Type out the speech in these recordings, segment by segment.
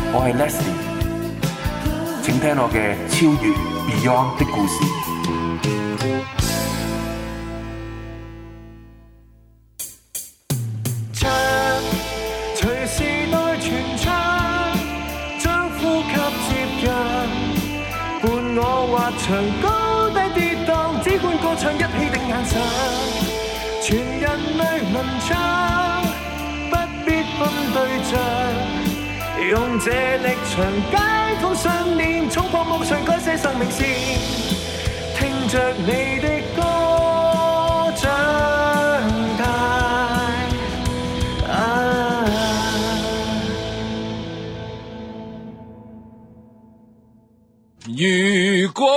我係 Leslie， 請聽我嘅超越 Beyond 的故事。 唱，隨時代傳唱，將呼吸接近，伴我滑翔高低跌宕，只管歌唱一起的眼神，全人類能唱，不必分對象。用這力場解放信念，衝破夢想，改寫生命線。聽着你的歌長大。 如果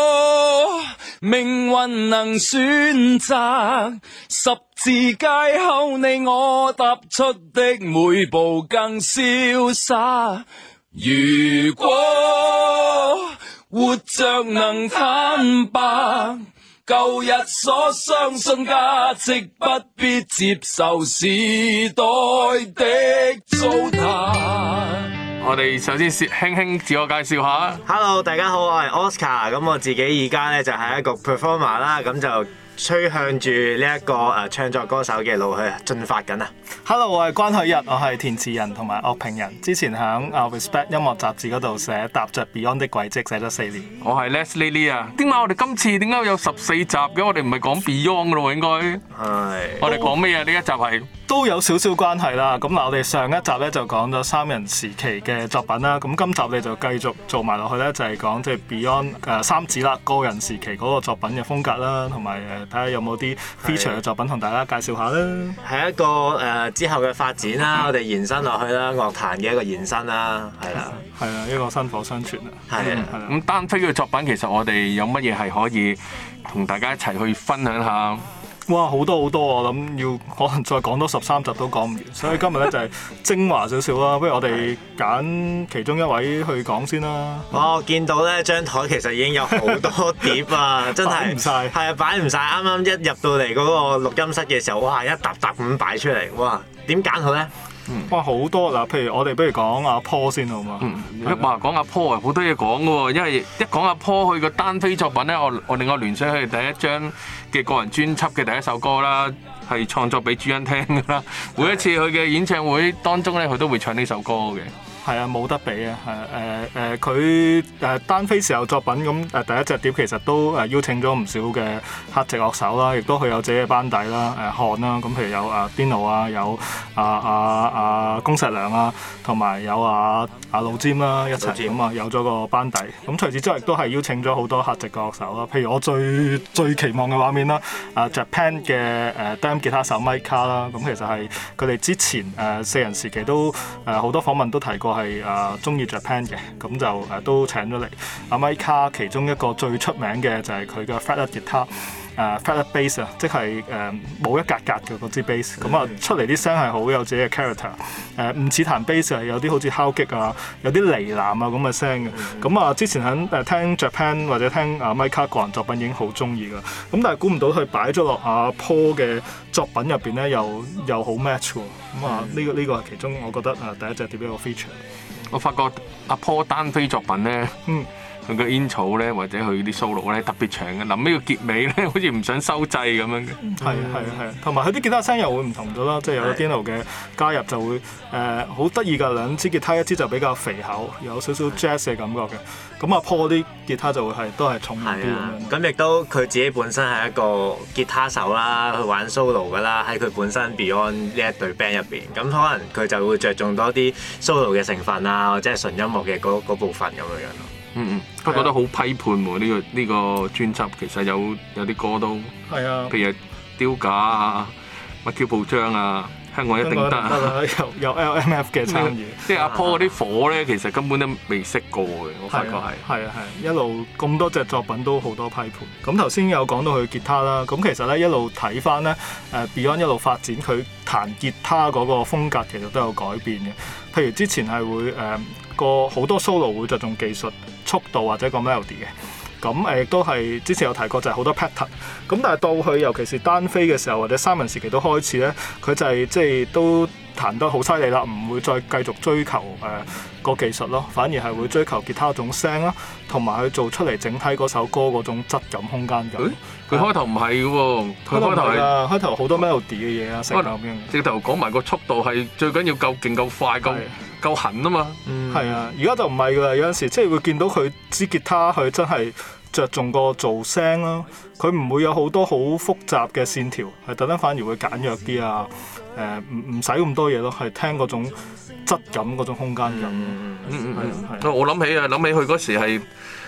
命運能選擇，十字街後你我踏出的每步更瀟灑。如果活着能坦白，舊日所相信價值不必接受時代的糟蹋。我哋首先輕輕自我介紹下。 Hello， 大家好，我係 Oscar。咁我自己而家咧就係一個 performer 啦，咁就趨向住呢一個唱作歌手嘅路去進發緊啊。 Hello， 我係關海日，我係填詞人同埋樂評人。之前喺Respect 音樂雜誌嗰度寫踏着 Beyond 的軌跡，寫咗4年。 我係 Leslie Lee 啊。點解我哋今次點解有14集嘅？我哋唔係講 Beyond 噶咯喎，應該。係。我哋講咩啊？呢一集係都有少少關係啦。咁嗱，我哋上一集咧就講咗3人時期嘅作品啦。咁今集你就繼續做埋落去咧，就係講即係 Beyond 三子啦，個人時期嗰個作品嘅風格啦，同埋睇下有冇啲 feature 嘅作品同大家介紹下啦。 係一個之後嘅發展啦，我哋延伸落去啦，樂壇嘅一個延伸啦，係啦， 係啊，一個薪火相傳啊。 係啊。 咁單飛嘅作品，其實我哋有乜嘢係可以同大家一齊去分享下？ 哇，好多好多，我諗要可能再講多13集都講唔完，所以今日咧就係精華少少啦。不如我哋揀其中一位去講先啦。 我見到咧張台其實已經有好多碟啊，真係擺唔晒。 係啊，擺唔晒。啱啱一入到嚟嗰個錄音室嘅時候，哇，一沓沓咁擺出嚟，哇，點揀好咧？ 哇，好多嗱，譬如我哋不如講阿 Paul 先好嘛？ 話講阿 Paul 啊，好多嘢講嘅喎，因為一講阿 Paul 佢個單飛作品咧，我令我聯想起第一張嘅個人專輯嘅第一首歌啦，係創作俾朱茵聽嘅啦。每一次佢嘅演唱會當中咧，佢都會唱呢首歌嘅。 係啊，冇得比啊！係佢單飛時候作品咁第一隻碟其實都邀請咗唔少嘅客席樂手啦，亦都佢有自己嘅班底啦，漢啦，咁譬如有Dino 啊，有恭碩良啊，同埋有老詹啦一齊咁啊，有咗個班底。咁除此之外，亦都係邀請咗好多客席嘅樂手啦，譬如我最期望嘅畫面啦，Japan 嘅Damn 吉他手 Micah 啦，咁其實係佢哋之前4人時期都好多訪問都提過係中意 Japan 嘅，咁就都請咗嚟。阿 Micah 其中一個最出名嘅就係佢嘅 fretless 吉他。fretless bass 啊，即係冇一格格嘅嗰支 bass， 咁啊出嚟啲聲係好有自己嘅 character， 唔似彈 bass 係有啲好似敲擊啊，有啲呢喃啊咁嘅聲嘅，咁之前喺聽 Japan 或者聽Micah 個人作品已經好中意㗎，咁但係估唔到佢擺咗落阿 Paul 嘅作品入邊咧，又好 match 喎，咁呢個係其中我覺得第一隻碟一個 feature。 我發覺阿 Paul 單飛作品咧。佢個 intro 咧，或者佢啲 solo 咧特別長嘅，臨尾個結尾咧，好似唔想收掣咁樣嘅。 係，同埋佢啲吉他聲又會唔同咗啦，即係有 Dino 嘅加入就會好得意㗎，兩支吉他一支就比較肥厚，有少少 jazz 嘅感覺嘅。咁阿 Paul 啲吉他就會都係重啲咁樣。 咁亦都佢自己本身係一個吉他手啦，去玩 solo 㗎啦，喺佢本身 Beyond 呢一隊 band 入邊，咁可能佢就會着重多啲 solo 嘅成分啊，或者係純音樂嘅嗰部分咁樣咯。 不過覺得好批判喎，呢個專輯其實有啲歌都係啊，譬如丟架啊、乜 Q 報章啊、香港一定得啊， 有 LMF 嘅參與。 即係阿 Paul 嗰啲火咧，其實根本都未識過嘅，我發覺係。 係一路咁多隻作品都好多批判。咁頭先有講到佢吉他啦，咁其實咧一路睇翻咧Beyond 一路發展佢彈吉他嗰個風格，其實都有改變嘅。譬如之前係會好多 solo 會着重技術、速度或者個 melody 嘅，咁亦都係之前有提過就係好多 pattern， 咁但係到佢尤其是單飛嘅時候或者3人時期都開始咧，佢就係即係都彈得好犀利啦，唔會再繼續追求個技術咯，反而係會追求吉他嗰種聲啦，同埋佢做出嚟整體嗰首歌嗰種質感、空間感。 佢開頭唔係嘅喎，佢開頭係開頭好多 melody 嘅嘢啊，成咁樣。 直頭講埋個速度係最緊要夠勁、夠快、夠狠啊嘛。 係啊，而家就唔係㗎啦，有陣時即係會見到佢支吉他，佢真係着重個做聲啦，佢唔會有好多好複雜嘅線條，係特登反而會簡約啲啊。唔使咁多嘢咯，係聽嗰種質感、嗰種空間感。 我諗起佢嗰時係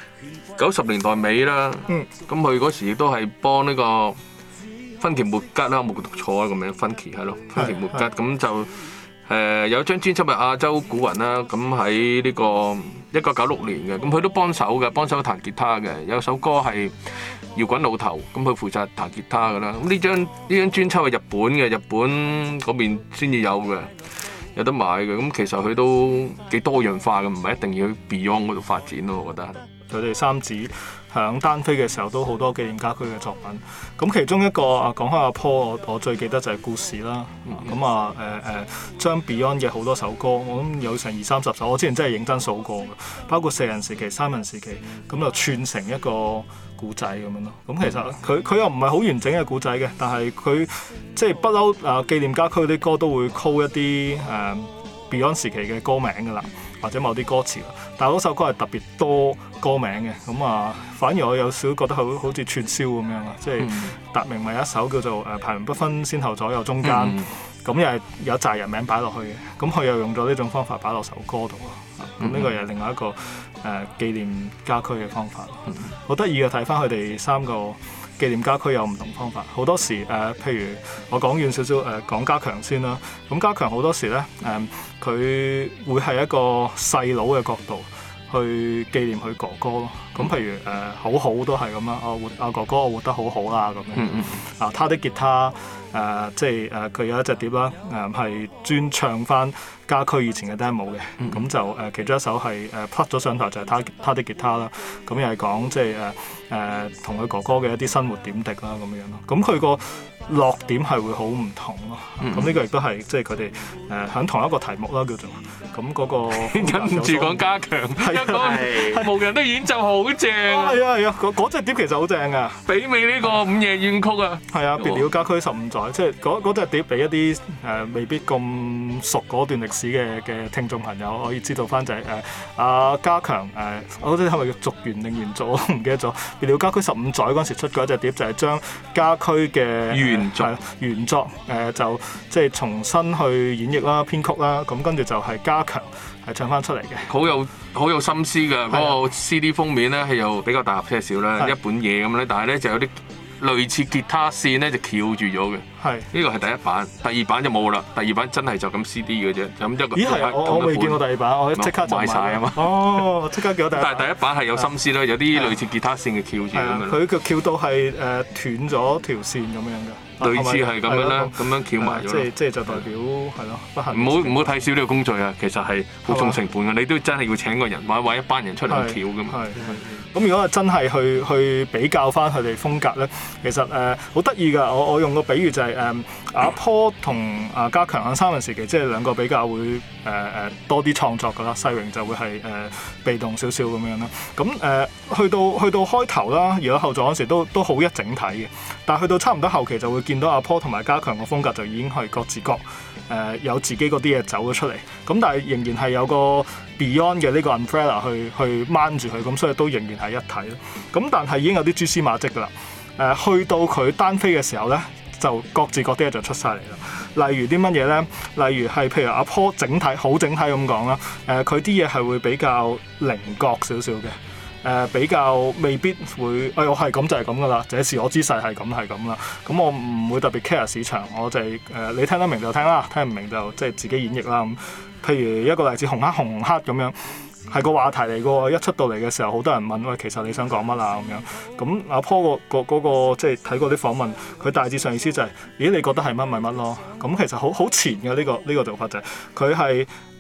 90年代尾啦。咁佢嗰時亦都係幫呢個芬奇末吉啦，冇讀錯啊個名，芬奇係咯，芬奇末吉咁就。有一張專輯係亞洲古雲啦，咁喺呢個1996年嘅，咁佢都幫手彈吉他嘅。有首歌係搖滾老頭，咁佢負責彈吉他㗎啦。咁呢張專輯係日本嘅，日本嗰邊先至有嘅，有得買嘅。咁其實佢都幾多樣化嘅，唔係一定要去 Beyond 嗰度發展咯，我覺得。 佢哋三子響單飛嘅時候都好多紀念家駒嘅作品，咁其中一個講開阿 Paul，我最記得就係故事啦。咁將 Beyond 嘅好多首歌，我諗有成20-30首，我之前真係認真數過嘅，包括4人時期、3人時期，咁就串成一個故仔咁樣咯。咁其實佢又唔係好完整嘅故仔嘅，但係佢即係不嬲紀念家駒啲歌都會 call 一啲Beyond 時期嘅歌名㗎啦，或者某啲歌詞啦，但係嗰首歌係特別多歌名嘅，咁反而我有少覺得好似串燒咁樣啊，即係達明咪有一首叫做排名不分先後左右中間，咁又係有紮人名擺落去嘅，咁佢又用咗呢種方法擺落首歌度啊，咁呢個又係另外一個紀念家駒嘅方法，好得意嘅。睇翻佢哋3個紀念家駒有唔同方法，好多時譬如我講遠少少講家強先啦，咁家強好多時咧佢會係一個細佬嘅角度去紀念佢哥哥咯，咁譬如好好都係咁啦，阿哥哥我活得好好啦咁樣，他的吉他即係佢有一隻碟啦，係專唱翻家駒以前嘅 demo 嘅，咁就其中一首係plug 咗上台就係他的吉他啦，咁又係講即係同佢哥哥嘅一啲生活點滴啦咁樣咯，咁佢個落點係會好唔同咯，咁呢個亦都係即係佢哋響同一個題目啦叫做，咁嗰個跟住講家強，係無人的演奏好正， 係啊，嗰隻碟其實好正噶， 媲美呢個午夜怨曲啊， 係啊，別了家駒15載，即係嗰隻碟俾一啲未必咁熟嗰段歷史嘅聽眾朋友可以知道翻就係阿家強我覺得係咪叫續弦定原作我唔記得咗，別了家駒15載嗰陣時出過一隻碟就係將家駒嘅原作就即係重新去演繹啦、編曲啦，咁跟住就係家強係唱翻出嚟嘅， 好有心思㗎。嗰個 CD 封面咧係又比較大盒些少啦，一本嘢咁咧，但係咧就有啲類似吉他線咧就翹住咗嘅。呢個係第一版，第二版就冇啦。第二版真係就咁 CD 嘅啫，咁一個。 咦係，我未見過第二版，我即刻就買晒啊嘛。 哦，即刻叫第一版。 但係第一版係有心思啦，有啲類似吉他線嘅翹住咁樣。 佢個翹到係斷咗條線咁樣嘅。 類似係咁樣啦，咁樣翹埋咗。 即係就代表係咯，不幸。 唔好睇少呢個工序啊！其實係好重成本嘅，你都真係要請個人或者一班人出嚟翹㗎嘛。 咁如果真係去比較翻佢哋風格咧，其實好得意㗎。我用個比喻就係阿 Paul 同阿家強喺3人時期，即係兩個比較會多啲創作㗎啦。世榮就會係被動少少咁樣啦。咁去到開頭啦，而家後座嗰時都好一整體嘅，但係去到差唔多後期就會見到阿 Paul 同埋家強個風格就已經係各自各有自己嗰啲嘢走咗出嚟。咁但係仍然係有個 Beyond 嘅呢個 umbrella 去掹住佢，咁所以都仍然係一體咯。咁但係已經有啲蛛絲馬跡㗎啦。去到佢單飛嘅時候咧，就各自各啲嘢就出晒嚟啦。例如啲乜嘢咧？例如係譬如阿 Paul 好整體咁講啦。佢啲嘢係會比較稜角少少嘅。比較未必會，我係咁就係咁噶啦，這是我姿勢係咁啦。咁我唔會特別 care 市場，我就係你聽得明就聽啦，聽唔明就即係自己演繹啦。咁譬如一個例子，紅黑咁樣，係個話題嚟嘅喎。一出到嚟嘅時候，好多人問喂，其實你想講乜啊？咁樣咁阿 Paul 嗰個即係睇過啲訪問，佢大致上意思就係，咦你覺得係乜咪乜咯？咁其實好前嘅呢個做法就係佢係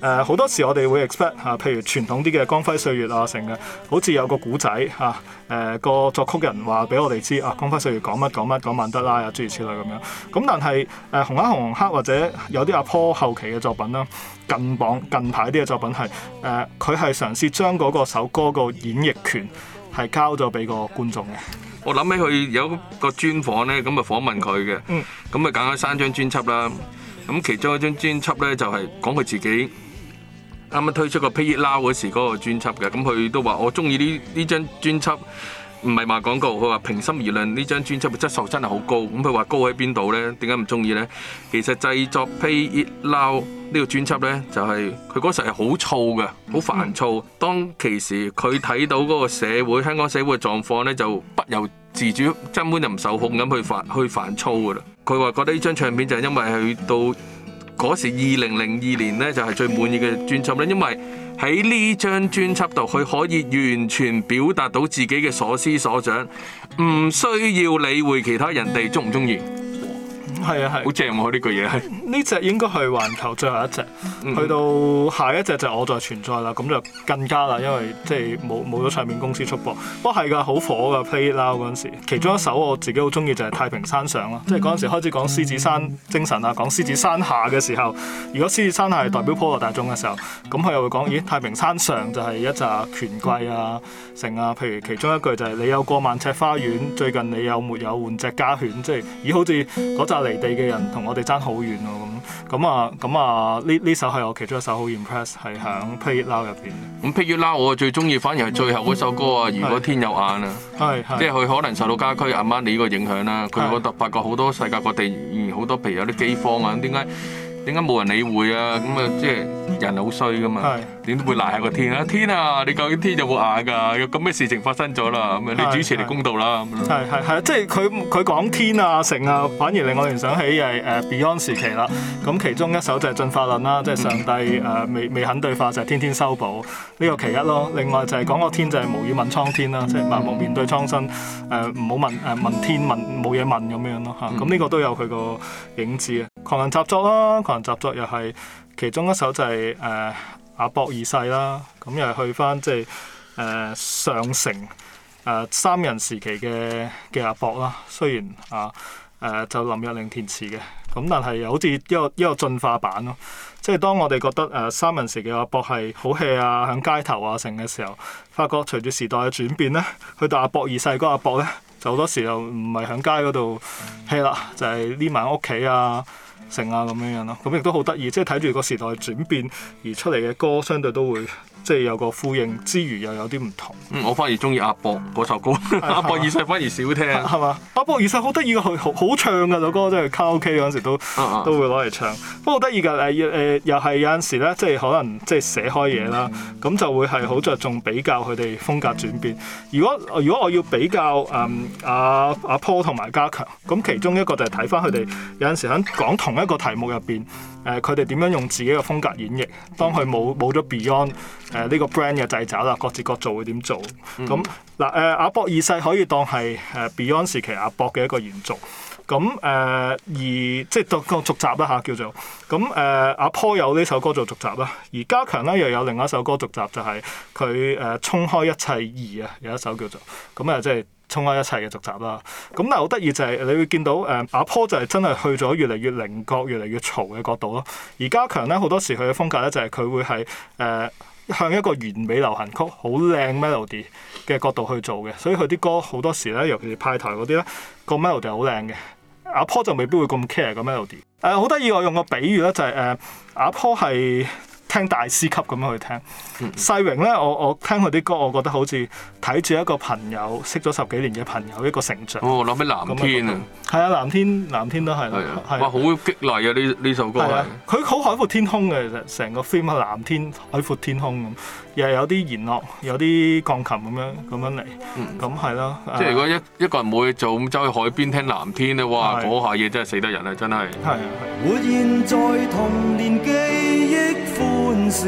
好多時我哋會 expect 譬如傳統啲嘅光輝歲月啊，成嘅好似有個古仔個作曲人話俾我哋知光輝歲月講乜講乜講曼德拉啊諸如此類咁樣。咁但係紅黑紅黑或者有啲阿坡後期嘅作品啦，近排啲嘅作品係佢係嘗試將嗰個首歌個演繹權係交咗俾個觀眾嘅。 我諗起佢有個專訪咧，咁啊訪問佢嘅，咁啊揀咗3張專輯啦。咁其中一張專輯咧就係講佢自己啱啱推出個 Play It Loud 嗰時嗰個專輯嘅。咁佢都話我中意呢張專輯，唔係賣廣告，佢話平心而論呢張專輯嘅質素真係好高。咁佢話高喺邊度咧？點解唔中意咧？其實製作 Play It Loud呢個專輯咧，就係佢嗰時係好燥嘅，好煩躁。當其時佢睇到嗰個社會香港社會嘅狀況咧，就不由自主，根本就唔受控咁去煩躁噶啦。佢話覺得呢張唱片就係因為去到嗰時2002年咧，就係最滿意嘅專輯咧，因為喺呢張專輯度，佢可以完全表達到自己嘅所思所想，唔需要理會其他人哋中唔中意。 係啊係， 好正喎呢句嘢係。 呢隻應該係環球最後一隻，去到下一隻就我在存在啦，咁就更加啦，因為即係冇咗唱片公司出播。不過係㗎，好火㗎 Play It Loud 嗰陣時，其中一首我自己好中意就係太平山上啦，即係嗰陣時開始講獅子山精神啊，講獅子山下嘅時候，如果獅子山下係代表普羅大眾嘅時候，咁佢又會講咦太平山上就係一紮權貴啊成啊，譬如其中一句就係你有過萬尺花園，最近你有沒有換隻家犬，即係咦好似嗰紮離地嘅人同我哋爭好遠喎咁啊呢首係我其中一首好 impress 係喺 Play It Loud 入邊。咁 Play It Loud 我最中意反而係最後嗰首歌啊！如果天有眼啊，即係佢可能受到家駒阿媽你呢個影響啦。佢覺得發覺好多世界各地好多譬如有啲饑荒啊，點解冇人理會啊？咁啊即係人好衰噶嘛，點都會賴下個天啊！天啊，你究竟天有冇眼㗎？有咁嘅事情發生咗啦，咁你主持嚟公道啦。 係即係佢講天啊成啊，反而令我聯想起係Beyond 時期啦。咁其中一首就係進化論啦，即係上帝未肯對化就係天天修補呢個其一咯。另外就係講個天就係無語問蒼天啦，即係盲目面對蒼生唔好問天問冇嘢問咁樣咯嚇。咁呢個都有佢個影子啊。狂人習作啦，狂人習作又係其中一首就係阿博二世啦，咁又係去翻即係上城三人時期嘅阿博啦。雖然就林若寧填詞嘅，咁但係又好似一個進化版咯。即係當我哋覺得三人時期嘅阿博係好 hea 啊，響街頭啊成嘅時候，發覺隨住時代嘅轉變咧，去到阿博二世嗰個阿博咧，就好多時候唔係響街嗰度 hea 啦，就係匿埋屋企啊成啊咁樣咯。咁亦都好得意，即係睇住個時代轉變而出嚟嘅歌，相對都會即係有個呼應之餘又有啲唔同。我反而中意阿博嗰首歌，阿博二世反而少聽。係嘛？阿博二世好得意嘅，佢好唱㗎首歌，即係卡拉 OK 嗰陣時都會攞嚟唱。不過好得意㗎又係有陣時咧，即係可能即係寫開嘢啦，咁就會係好着重比較佢哋風格轉變。如果我要比較阿 Paul 同埋家強，咁其中一個就係睇翻佢哋有陣時喺講同一個題目入邊，佢哋點樣用自己嘅風格演繹。當佢冇咗 Beyond 呢個 brand 嘅掣肘啦，各自各做會點做？咁阿博二世可以當係Beyond 時期阿博嘅一個延續。咁而即係個續集啦嚇叫做。咁阿 Paul 有呢首歌做續集啦，而家強咧又有另一首歌續集，就係佢衝開一切二啊，有一首叫做咁即係衝開一切嘅續集啦。咁但係好得意就係你會見到阿 Paul 就係真係去咗越嚟越稜角、越嚟越嘈嘅角度咯。而家強咧好多時佢嘅風格咧就係佢會係向一個完美流行曲好靚 melody 嘅角度去做嘅，所以佢啲歌好多時咧，尤其是派台嗰啲咧，個 melody 好靚嘅。阿 Paul 就未必會咁 care 個 melody。好得意，我用個比喻咧就係阿 Paul 係聽大師級咁樣去聽。世榮咧，我聽佢啲歌，我覺得好似睇住一個朋友識咗10幾年嘅朋友一個成長。諗起藍天啊，係啊，藍天都係啦，哇，好激勵啊！呢首歌係佢好海闊天空嘅，其實成個 film 係藍天海闊天空咁，又係有啲弦樂，有啲鋼琴咁樣嚟，咁係咯。即係如果一個人冇嘢做，咁走去海邊聽藍天咧，哇！嗰下嘢真係死得人啊，真係。 活現在童年記憶歡笑，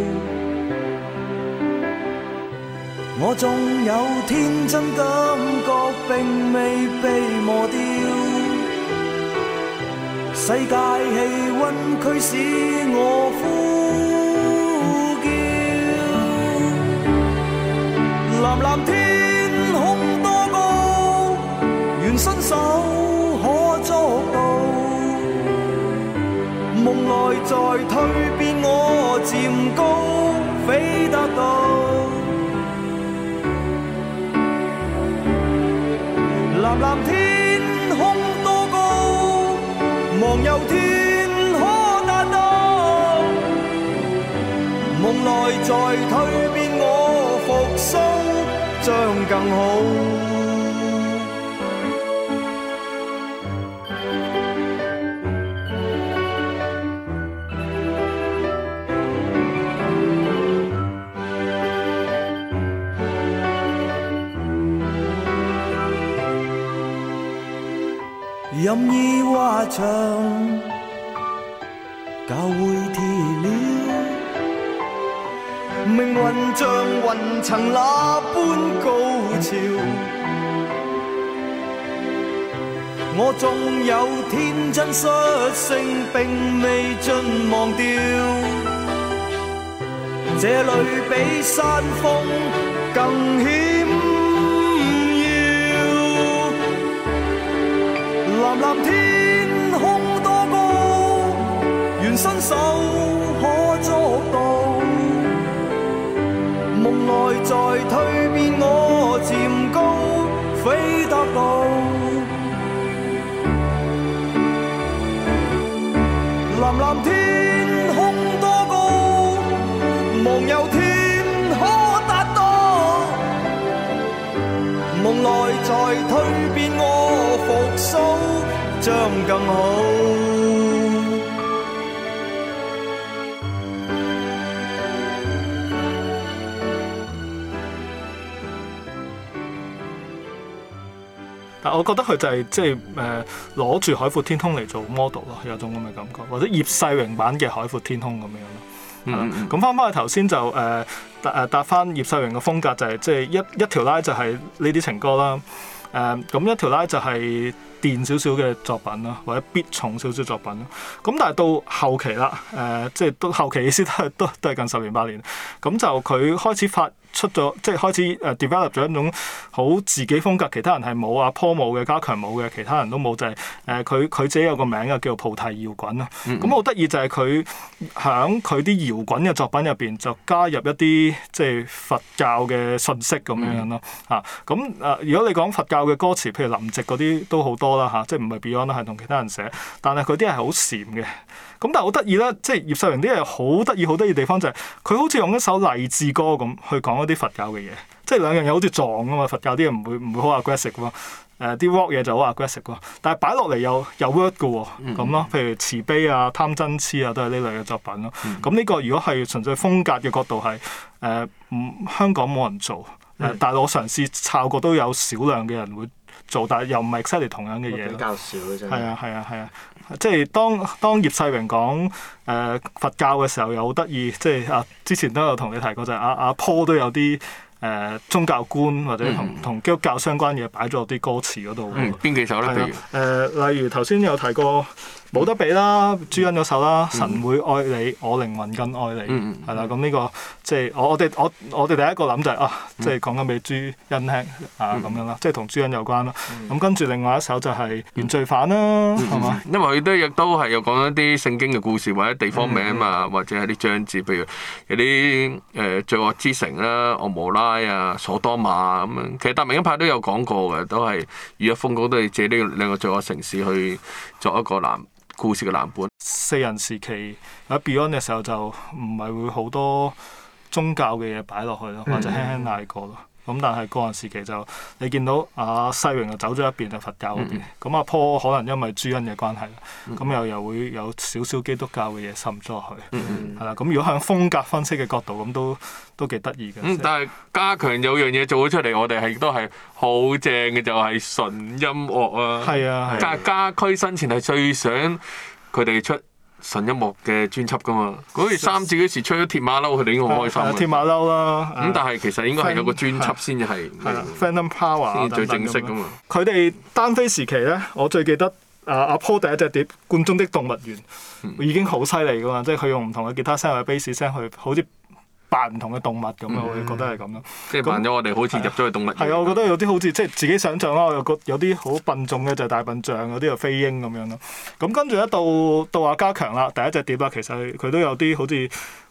我縱有天真感覺並未被磨掉，世界氣溫驅使我呼漸高，飛得到。藍藍天空多高，望有天可達到。夢內在蛻變，我復甦將更好。任意畫牆，教會鐵了，命運像雲層那般高潮。我縱有天真率性，並未盡忘掉，這裏比山峰更險。藍藍天空多高，願伸手可捉到。夢內在蛻變，我漸高，飛得到。藍藍天空多高，望有天可達到。夢內在蛻變，我復甦將更好。 但我覺得佢就係即係攞住海闊天空嚟做 model 咯，有種咁嘅感覺，或者葉世榮版嘅海闊天空咁樣咯。咁翻返去頭先就答翻葉世榮嘅風格就係即係一條拉就係呢啲情歌啦。咁一條拉就係電少少嘅作品啦，或者 beat 重少少作品啦。咁但係到後期啦，即係到後期意思都係近10年8年。咁就佢開始發出咗，即係開始develop 咗一種好自己風格，其他人係冇，阿 Paul 冇嘅，家強冇嘅，其他人都冇，就係佢自己有個名嘅，叫做菩提搖滾啦。咁好得意就係佢響佢啲搖滾嘅作品入邊就加入一啲即係佛教嘅信息咁樣咯。如果你講佛教嘅歌詞，譬如林夕嗰啲都好多啦，即係唔係 Beyond 啦，係同其他人寫，但係佢啲係好禪嘅。咁但係好得意咧，即係葉世榮啲嘢好得意地方就係佢好似用一首勵志歌咁去講一啲佛教嘅嘢，即係兩樣嘢好似撞啊嘛。佛教啲嘢唔會好 aggressive 喎，啲 rock 嘢就好 aggressive 喎，但係擺落嚟有 word 嘅喎，咁咯。譬如慈悲啊、貪嗔痴啊，都係呢類嘅作品咯。咁呢個如果係純粹風格嘅角度係香港冇人做，但係我嘗試抄過都有少量嘅人會做，但係又唔係 exactly 同樣嘅嘢咯。 比較少嘅啫。係啊，即係當葉世榮講佛教嘅時候又好得意，即係之前都有同你提過，就係阿 Paul 都有啲宗教觀或者同基督教相關嘢擺咗啲歌詞嗰度。 邊幾首咧？譬如例如頭先有提過冇得比啦，朱茵嗰首啦，神會愛你，我靈魂更愛你，係啦。咁呢個即係我哋第一個諗就係即係講緊俾朱茵聽咁樣啦，即係同朱茵有關啦。咁跟住另外一首就係原罪犯啦，係嘛？ 因為佢亦都係有講一啲聖經嘅故事或者地方名啊，或者係啲章節，譬如有啲罪惡之城啦、俄摩拉啊、所多瑪咁樣。其實達明一派都有講過嘅，都係余一風都係借呢兩個罪惡城市去作一個故事嘅藍本。 四人時期喺 Beyond 嘅時候就唔係會好多宗教嘅嘢擺落去咯，或者輕輕嗌過咯。咁但係個人時期就你見到世榮就走咗一邊就佛教嗰邊，咁阿 Paul 可能因為朱茵嘅關係啦，咁又會有少少基督教嘅嘢滲咗落去，係啦。咁如果向風格分析嘅角度，咁都幾得意嘅。 但係家強有樣嘢做咗出嚟，我哋係都係好正嘅，就係純音樂啊。 係啊， 家駒生前係最想佢哋出純音樂嘅專輯㗎嘛，好似三子嗰時出咗鐵馬騮，佢哋已經好開心。 鐵馬騮啦， 咁但係其實應該係有個專輯先至係 Phantom Power 先最正式㗎嘛。 佢哋單飛時期咧，我最記得阿 Paul 第一隻碟《罐中的動物園》已經好犀利㗎嘛，即係佢用唔同嘅吉他聲或者 bass 聲去好似扮唔同嘅動物咁樣，我覺得係咁咯。即係扮咗我哋好似入咗去動物園。 係啊，我覺得有啲好似即係自己想像啦，有啲好笨重嘅就係大笨象，有啲就飛鷹咁樣咯。咁跟住到阿家強啦，第一隻碟啦，其實佢都有啲好似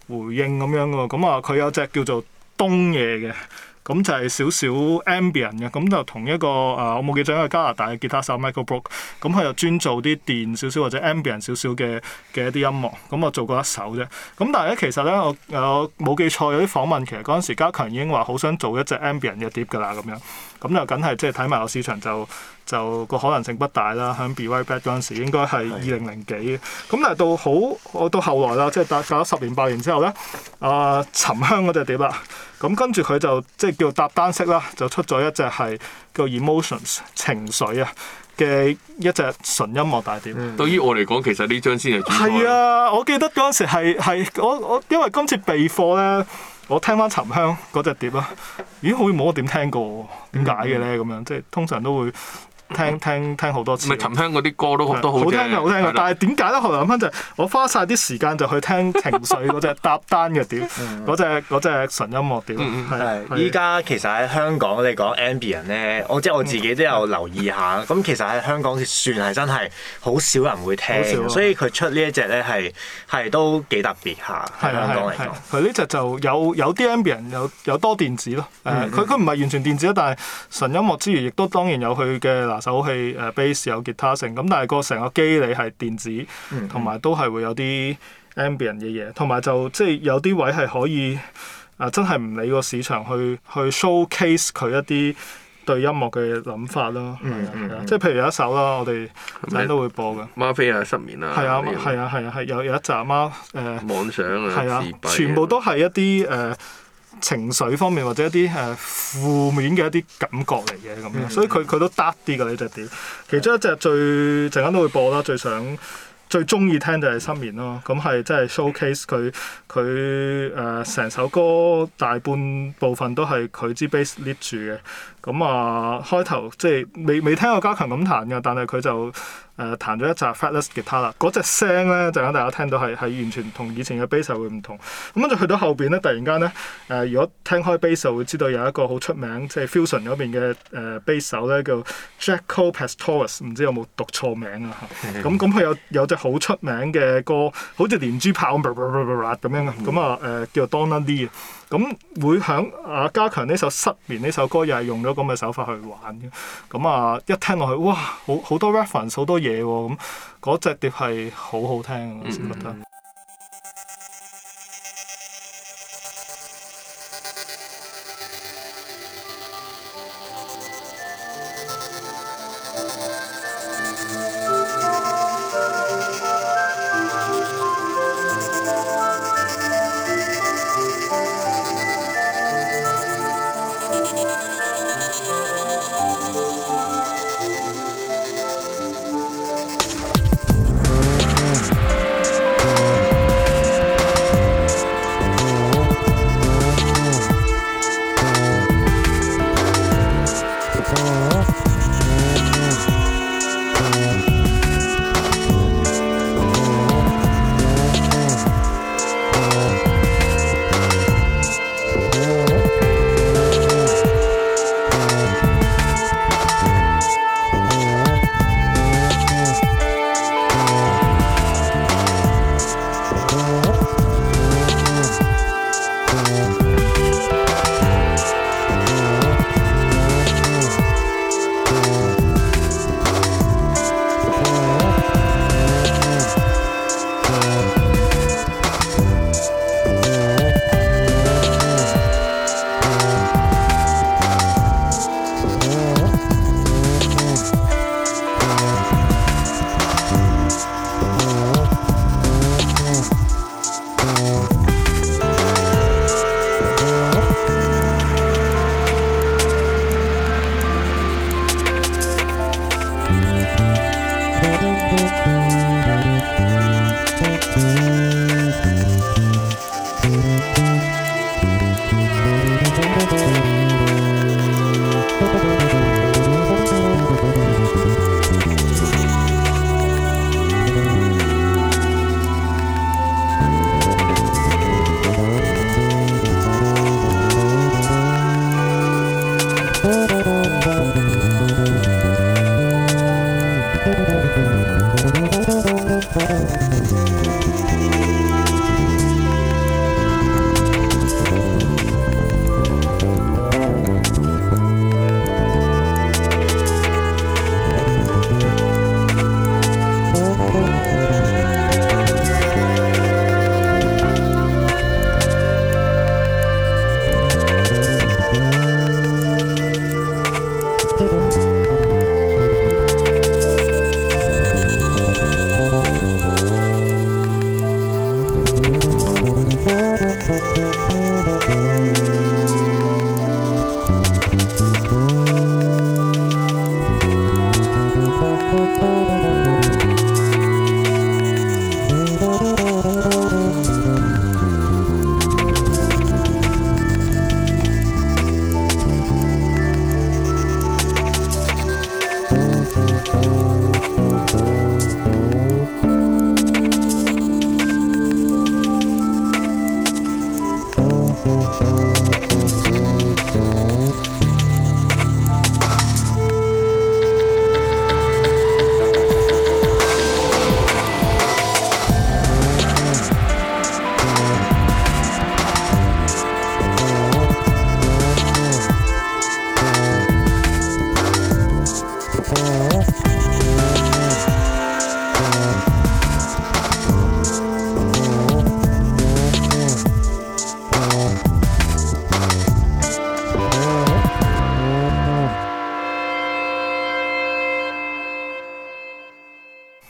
回應咁樣喎。咁啊，佢有隻叫做東夜嘅。咁就係少少 ambient 嘅，咁就同一個我冇記錯，一個加拿大嘅吉他手 Michael Brook， 咁佢又專做啲電少少或者 ambient 少少嘅一啲音樂，咁我做過一首啫。咁但係咧，其實咧我冇記錯，有啲訪問其實嗰陣時家強已經話好想做一隻 ambient 嘅碟㗎啦，咁樣，咁就梗係即係睇埋個市場就個可能性不大啦。喺 Be Right Back 嗰陣時應該係2000幾嘅，咁但係到後來啦，即係隔咗10年8年之後咧，沉香嗰隻碟啦。咁跟住佢就即係叫搭單式啦，就出咗一隻係叫 Emotions 情緒啊嘅一隻純音樂大碟。 對於我嚟講，其實呢張先係主。 係啊，我記得嗰陣時係我因為今次備課咧，我聽翻沉香嗰隻碟啊，咦好似冇乜點聽過，點解嘅咧咁樣？即係通常都會聽好多次。 咪沉香嗰啲歌都好聽嘅，但係點解咧？後來諗翻就係我花晒啲時間就去聽情緒嗰隻搭單嘅碟，嗰隻純音樂碟。 係依家其實喺香港你講 ambient 咧，我自己都有留意下。咁其實喺香港算係真係好少人會聽，所以佢出呢一隻咧係都幾特別下。喺香港嚟講， 佢呢隻就有啲 ambient， 有多電子咯。佢唔係完全電子，但係純音樂之餘，亦都當然有佢嘅手器bass 有吉他性，咁但係個成個機理係電子，同埋都係會有啲 ambient 嘅嘢，同埋就即係有啲位係可以真係唔理個市場去 showcase 佢一啲對音樂嘅諗法咯。即係譬如有一首啦，我哋陣都會播嘅。 嗎啡啊，失眠啊。 係有一集嗎？ 妄想啊， 係啊，全部都係一啲情緒方面或者一啲負面嘅一啲感覺嚟嘅咁樣，所以佢都得啲㗎呢隻碟。其中一隻最陣間都會播啦，最中意聽就係失眠咯。咁係真係 showcase 佢成首歌大半部分都係佢支 bass lead 住嘅。咁開頭即係未聽過家強咁彈㗎，但係佢就彈咗一集 fretless guitar 啦。嗰隻聲咧，陣間大家聽到係完全同以前嘅 bass 會唔同。咁跟住去到後邊咧，突然間咧如果聽開 bass 就會知道有一個好出名即係 fusion 嗰邊嘅bass 手咧叫 Jaco Pastorius， 唔知有冇讀錯名啊？咁佢有隻好出名嘅歌，好似連珠炮咁樣嘅，咁叫做 Donna Lee。咁會響家強呢首失眠呢首歌又係用咗咁嘅手法去玩嘅，咁一聽落去哇，好多 reference 好多嘢喎，咁嗰隻碟係好好聽，我先覺得。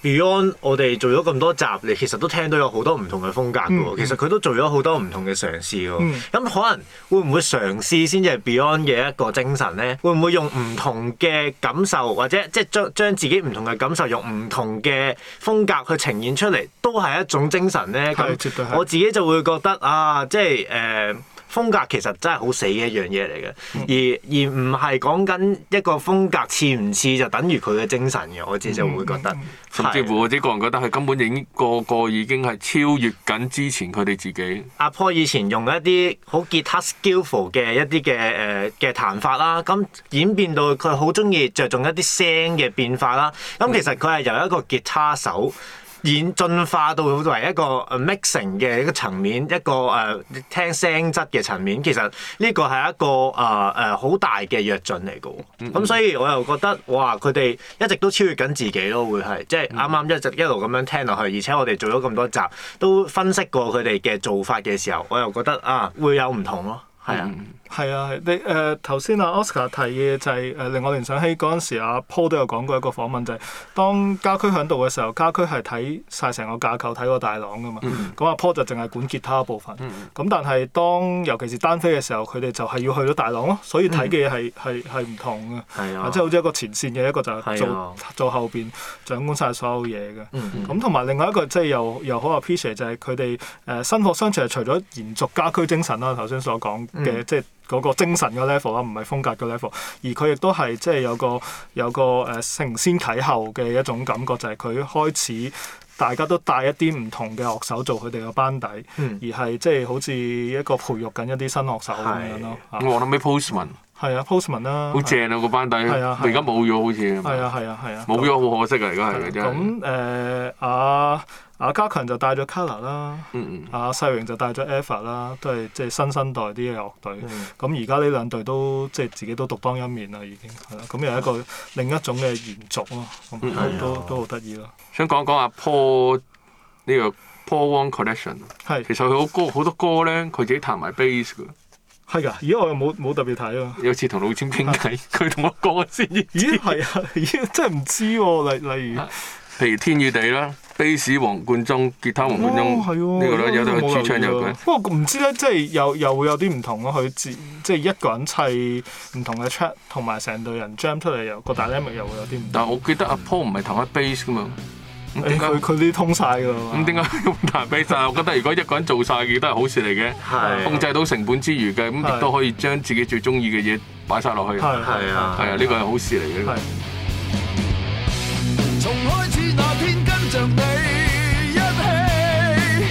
Beyond 我哋做咗咁多集，你其實都聽到有好多唔同嘅風格嘅喎。其實佢都做咗好多唔同嘅嘗試喎。咁可能會唔會嘗試先至係 Beyond 嘅一個精神咧？會唔會用唔同嘅感受，或者即係將自己唔同嘅感受用唔同嘅風格去呈現出嚟，都係一種精神咧？咁絕對係。 我自己就會覺得啊，即係風格其實真係好死嘅一樣嘢嚟嘅，而唔係講緊一個風格似唔似就等於佢嘅精神嘅，我自己就會覺得。 甚至乎我自己個人覺得係根本已經個已經係超越緊之前佢哋自己。 阿 Paul 以前用一啲好吉他 skillful 嘅一啲嘅彈法啦，咁演變到佢好中意着重一啲聲嘅變化啦。咁其實佢係由一個吉他手進化到為一個 mixing 嘅一個層面，一個聽聲質嘅層面，其實呢個係一個好大嘅躍進嚟嘅喎。咁所以我又覺得哇，佢哋一直都超越緊自己咯，會係即係啱啱一路咁樣聽落去，而且我哋做咗咁多集都分析過佢哋嘅做法嘅時候，我又覺得啊會有唔同咯，係啊。 係啊，你頭先阿 Oscar 提嘅就係令我聯想起嗰陣時，阿 Paul 都有講過一個訪問，就係當家駒喺度嘅時候，家駒係睇晒成個架構，睇個大廊噶嘛。咁阿 Paul 就淨係管吉他部分。咁但係當尤其是單飛嘅時候，佢哋就係要去到大廊咯，所以睇嘅嘢係唔同嘅。 係啊， 即係好似一個前線嘅，一個就係做後邊掌管晒所有嘢嘅。咁同埋另外一個即係又好 appreciate 就係佢哋新學相傳係除咗延續家駒精神啦，頭先所講嘅即係嗰個精神嘅 level 啦，唔係風格嘅 level， 而佢亦都係即係有個承先啟後嘅一種感覺，就係佢開始大家都帶一啲唔同嘅樂手做佢哋嘅班底，而係即係好似一個培育緊一啲新樂手咁樣咯。 我諗起 Postman。 係啊 ，Postman 啦， 好正啊個班底，而家冇咗好似。 係啊， 冇咗好可惜啊！而家係真係。 咁阿家強就帶咗 Kolor 啦，阿世榮就帶咗 Eva 啦，都係即係新生代啲嘅樂隊。咁而家呢兩隊都即係自己都獨當一面啦，已經係啦。咁又一個另一種嘅延續咯，都好得意咯。 想講阿 Paul 呢個 Paul Wong Collection， 其實佢好多歌咧，佢自己彈埋 bass 㗎。 係㗎，而家我又冇特別睇啊。 有次同老千傾偈，佢同我講先知。 咦係啊，真係唔知喎。例如， 譬如天與地啦，bass 黃貫中，吉他黃貫中，呢個咧有得佢主唱有嘅。 不過唔知咧，即係又會有啲唔同咯。佢即係一個人砌唔同嘅 track， 同埋成隊人 jam 出嚟，又個 dynamic 又會有啲唔同。 但係我記得阿 Paul 唔係彈開 bass 噶嘛。 佢啲通晒㗎嘛。 咁點解用彈 bass 啊？我覺得如果一個人做晒嘅都係好事嚟嘅，控制到成本之餘嘅，咁亦都可以將自己最中意嘅嘢擺晒落去。係啊，呢個係好事嚟嘅。 從開始那天跟着你一起，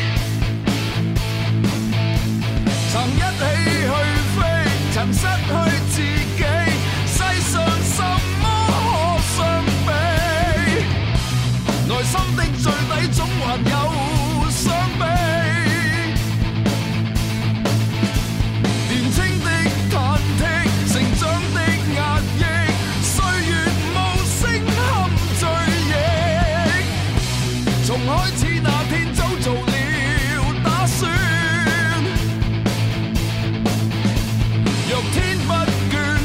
曾一起去飛，曾失去自己，世上什麼可相比？內心的最底總還有傷悲，年輕的忐忑，成長的壓抑，歲月無聲堪追憶。從開始那天早做了打算，若天不眷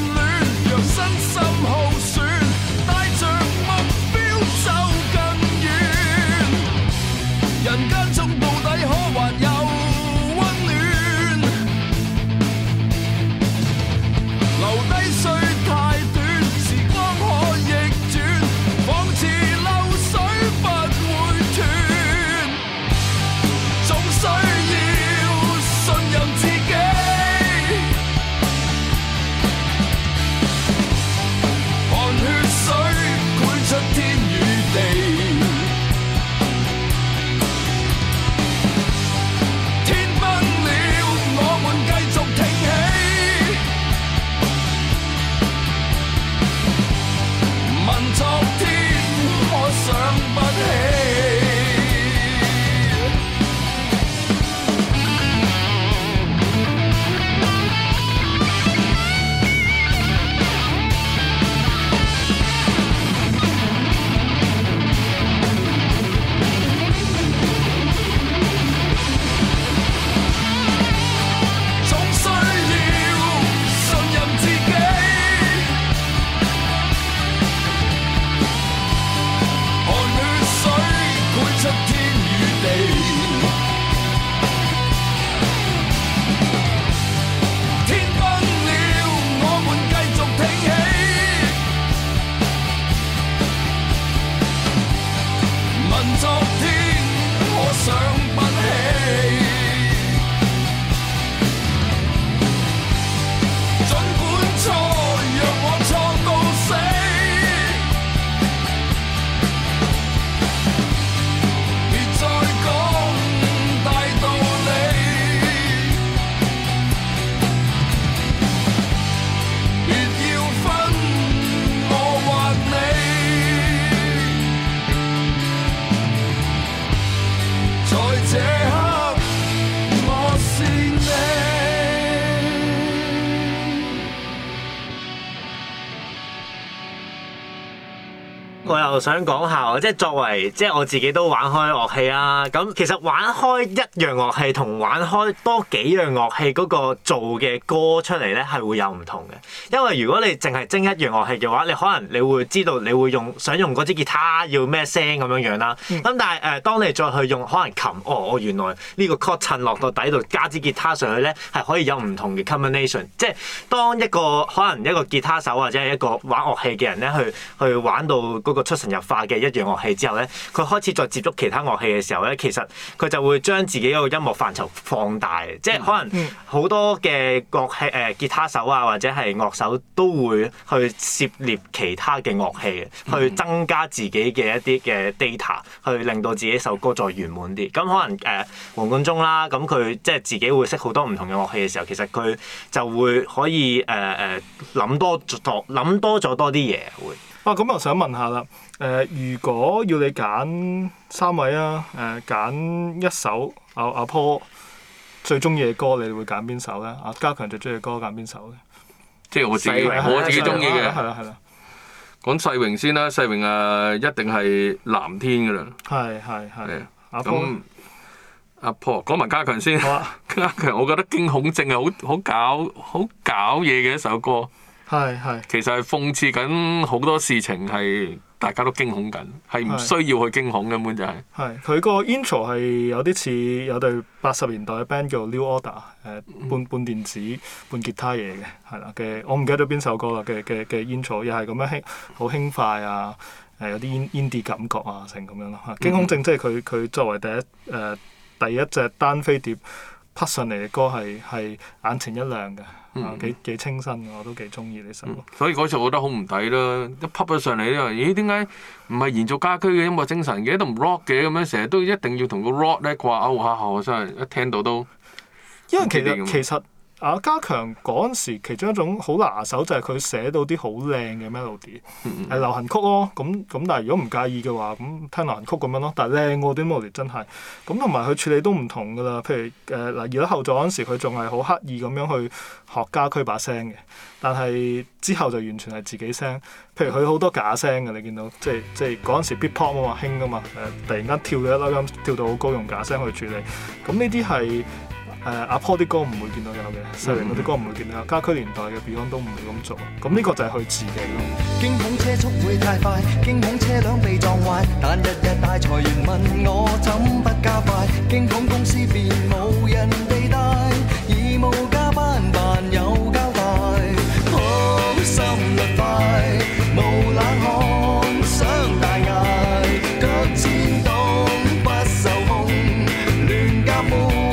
我又想講下，即係作為即係我自己都玩開樂器啦。咁其實玩開一樣樂器同玩開多幾樣樂器嗰個做嘅歌出嚟咧係會有唔同嘅。因為如果你淨係精一樣樂器嘅話，你可能你會知道你會想用嗰支吉他要咩聲咁樣啦。咁但係當你再去用可能琴，我原來呢個 chord 襯落到底度加支吉他上去咧，係可以有唔同嘅 combination。即係當一個可能一個吉他手或者係一個玩樂器嘅人咧，去玩到嗰個出神入化嘅一樣樂器之後咧，佢開始再接觸其他樂器嘅時候咧，其實佢就會將自己嗰個音樂範疇放大。即係可能好多嘅樂器吉他手啊或者係樂手都會去涉獵其他嘅樂器嘅，去增加自己嘅一啲嘅 data， 去令到自己首歌再圓滿啲。咁可能黃貫中啦，咁佢即係自己會識好多唔同嘅樂器嘅時候，其實佢就會可以諗多咗多啲嘢會。 咁我想問下啦，如果要你揀3位啊，揀一首阿 Paul 最中意嘅歌，你會揀邊首咧？阿家強最中意嘅歌揀邊首咧？ 即係我自己中意嘅。 係啦。 講世榮先啦，世榮一定係藍天㗎啦。 係。 阿 Paul 講埋家強先。家強我覺得驚恐症係好搞嘢嘅一首歌。係。其實係諷刺緊好多事情係大家都驚恐緊，係唔需要去驚恐根本就係。係佢個 intro 係有啲似有隊80年代嘅 band 叫 New Order， 半電子半吉他嘢嘅，係啦嘅，我唔記得咗邊首歌啦嘅 intro， 又係咁樣好輕快啊，有啲 indie 感覺啊，成咁樣咯嚇。驚恐症即係佢作為第一隻單飛碟匹上嚟嘅歌係眼前一亮嘅。幾清新嘅，我都幾中意呢首。 所以嗰時我覺得好唔抵啦，一匹咗上嚟咧，咦？點解唔係延續家駒嘅音樂精神嘅，都唔 rock 嘅咁樣，成日都一定要同個 rock 咧掛鈎下，我真係一聽到都。 因為其實家強嗰陣時，其中一種好拿手就係佢寫到啲好靚嘅 melody， 係流行曲咯。咁但係如果唔介意嘅話，咁聽流行曲咁樣咯。但係靚喎啲 melody 真係。咁同埋佢處理都唔同㗎啦。譬如而家後座嗰陣時，佢仲係好刻意咁樣去學家駒把聲嘅。但係之後就完全係自己聲。譬如佢好多假聲嘅，你見到即係嗰陣時 beat pop 啊嘛，興㗎嘛。突然間跳咗一粒音，跳到好高，用假聲去處理。咁呢啲係。阿 Paul 啲歌唔會見到有嘅，世榮嗰啲歌唔會見到有，家駒年代嘅 Beyond 都唔會咁做，咁呢個就係佢自己咯。 驚恐車速會太快，驚恐車輛被撞壞，但日日大財源問我怎不加快，驚恐公司便無人地帶，義務加班但有交代，好心率快，無冷汗想大嗌，腳尖動不受控，亂夾滿。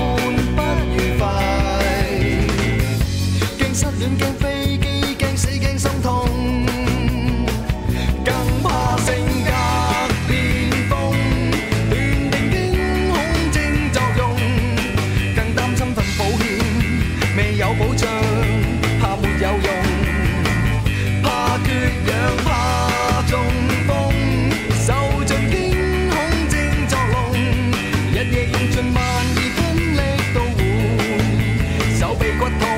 亂驚飛機，驚死驚心痛，更怕性格變瘋，斷定驚恐症作用，更擔心份保險未有保障，怕沒有用，怕缺氧，怕中風，受盡驚恐症作弄，日夜用盡萬二分力到換手臂骨痛。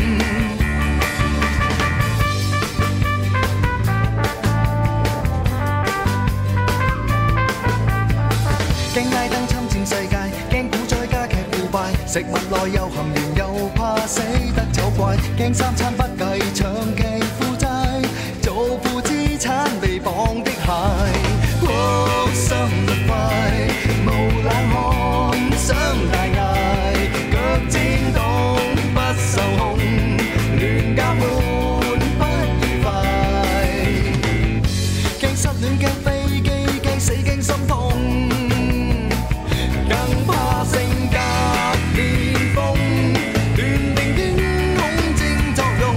驚拉登侵佔世界，驚股災加劇腐敗，食物內又含鉛，又怕死得醜怪，驚三餐不繼，長期負債，做負資產被綁的鞋，心率快，無冷汗想大嗌，腳尖動不受控，亂夾滿不愉快，驚失戀驚飛機，驚死驚心痛。性格變瘋，斷定驚恐症作用，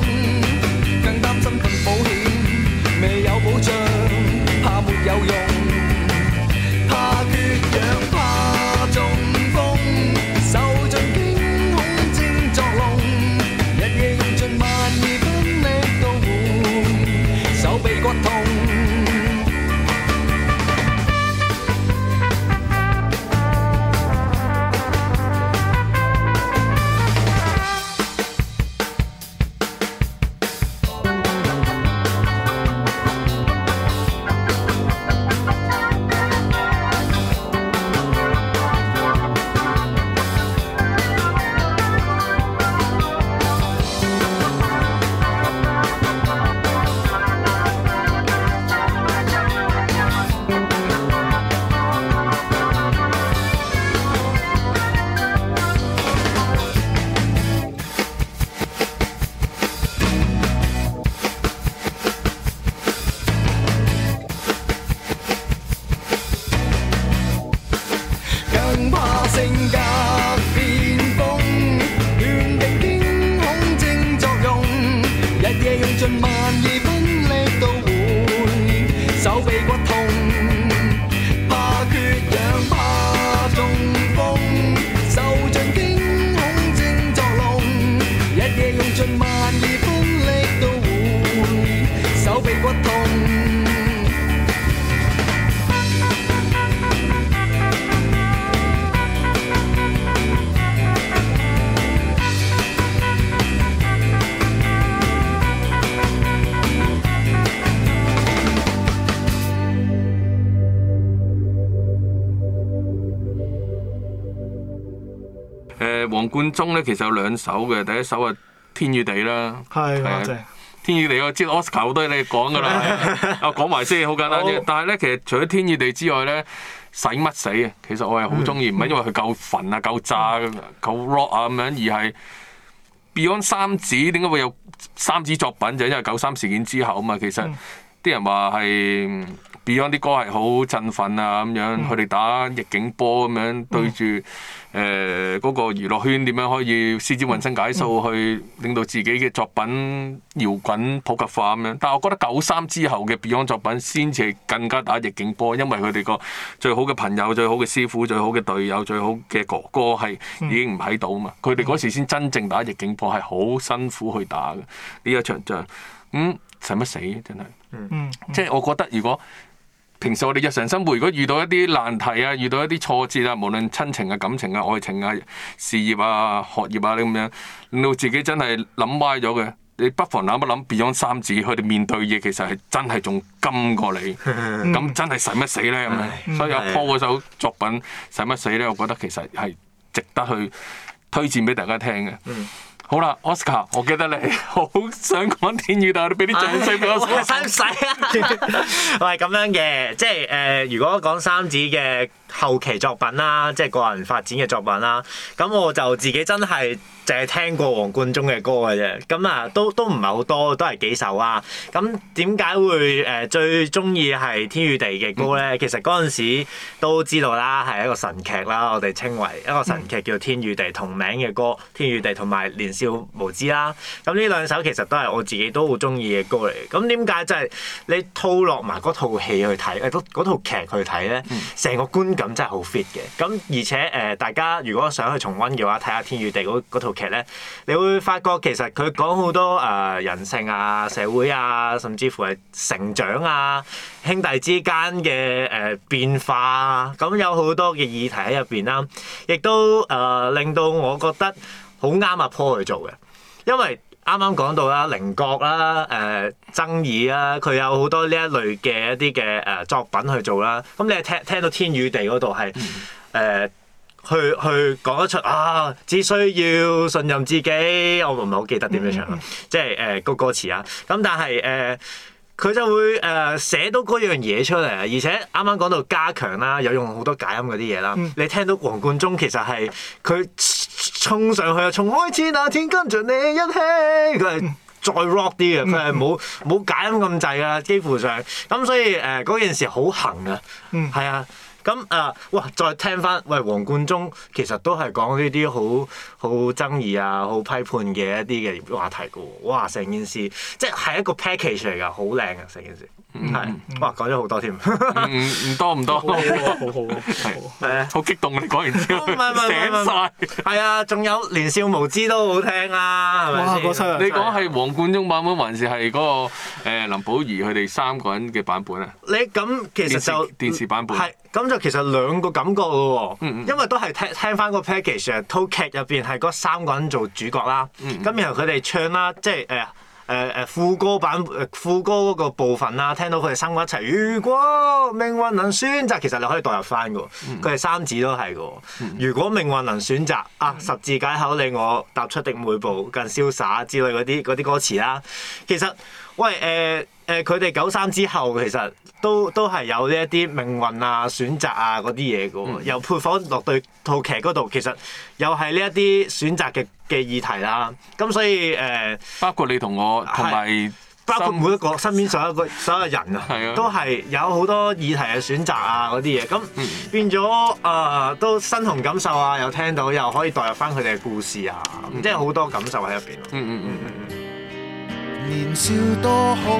貫中咧其實有2首嘅，第一首係《天與地》啦， 係啊正。 天與地我知 Oscar 好多嘢你講㗎啦，啊講埋先，好簡單啫。 好但係咧，其實除咗天與地之外咧，使乜死啊？其實我係好中意，唔係因為佢夠焚啊、夠炸、夠 rock 啊咁樣，而係 Beyond 三子點解會有三子作品？就因為93事件之後啊嘛。其實啲人話係 Beyond 啲歌係好振奮啊咁樣，佢哋打逆境波咁樣對住嗰個娛樂圈點樣可以施展渾身解數去令到自己嘅作品搖滾普及化咁樣。但係我覺得93之後嘅 Beyond 作品先至係更加打逆境波，因為佢哋個最好嘅朋友、最好嘅師傅、最好嘅隊友、最好嘅哥哥係已經唔喺度啊嘛。佢哋嗰時先真正打逆境波，係好辛苦去打嘅呢一場仗。使乜死真係？即係我覺得如果平時我哋日常生活如果遇到一啲難題啊，遇到一啲挫折啊，無論親情啊、感情啊、愛情啊、事業啊、學業啊，你咁樣令到自己真係諗歪咗嘅，你不妨諗一諗 Beyond 三子佢哋面對嘢其實係真係仲甘過你，咁真係使乜死咧咁樣？所以阿 Paul 嗰首作品使乜死咧？我覺得其實係值得去推薦俾大家聽嘅。好啦 ，Oscar， 我記得你好想講天與地，你俾啲掌聲俾我。 使唔使啊？我係咁樣嘅，即係如果講三子嘅後期作品啦，即係個人發展嘅作品啦，咁我就自己真係淨係聽過黃貫中嘅歌嘅啫，咁啊都唔係好多，都係幾首啊。咁點解會最中意係天與地嘅歌咧？其實嗰陣時都知道啦，係一個神劇啦，我哋稱為一個神劇叫天與地同名嘅歌，天與地同埋年少無知啦。咁呢兩首其實都係我自己都好中意嘅歌嚟。咁點解即係你套落埋嗰套戲去睇，嗰套劇去睇咧，成個觀感真係好 fit 嘅。咁而且大家如果想去重溫嘅話，睇下天與地嗰套劇咧，你會發覺其實佢講好多人性啊、社會啊，甚至乎係成長啊、兄弟之間嘅變化啊，咁有好多嘅議題喺入邊啦，亦都令到我覺得好啱阿 Paul 去做嘅，因為啱啱講到啦，稜角啦、爭議啦，佢有好多呢一類嘅一啲嘅作品去做啦。咁你係聽到天與地嗰度係去講得出啊，只需要信任自己。我唔係好記得點樣唱，即係個歌詞啊。咁但係佢就會寫到嗰樣嘢出嚟啊！而且啱啱講到加強啦，有用好多解音嗰啲嘢啦。你聽到黃貫中其實係佢衝上去啊，從開始那天跟著你一起，佢係再 rock 啲嘅，佢係冇解音咁滯㗎，幾乎上。咁所以嗰件事好行啊，係啊。咁哇！再聽翻，喂，黃貫中其實都係講呢啲好爭議啊、好批判嘅一啲嘅話題嘅喎。哇！成件事即係一個 package 嚟㗎，好靚啊！成件事係哇，講咗好多添。 唔多，好好激動啊！你講完之後，醒晒。 係啊，仲有年少無知都好聽啊，係咪先？ 你講係黃貫中版本還是係嗰個林保怡佢哋3個人嘅版本啊？ 你咁其實就電視版本係咁就其實兩個感覺嘅喎，因為都係聽翻個 package， 套劇入邊係嗰3個人做主角啦，咁然後佢哋唱啦，即係副歌嗰個部分啦，聽到佢哋3個一齊。如果命運能選擇，其實你可以代入翻嘅喎，佢哋三子都係嘅喎。如果命運能選擇十字解口令我踏出的每步更瀟灑之類嗰啲歌詞啦，其實喂佢哋93之後其實都係有呢一啲命運啊、選擇啊嗰啲嘢嘅喎，又配放落對套劇嗰度，其實又係呢一啲選擇嘅議題啦。咁所以包括你同我同埋包括每一個身邊所有人啊，都係有好多議題嘅選擇啊嗰啲嘢。咁變咗都身同感受啊，又聽到又可以代入翻佢哋嘅故事啊，即係好多感受喺入邊。 年少多好，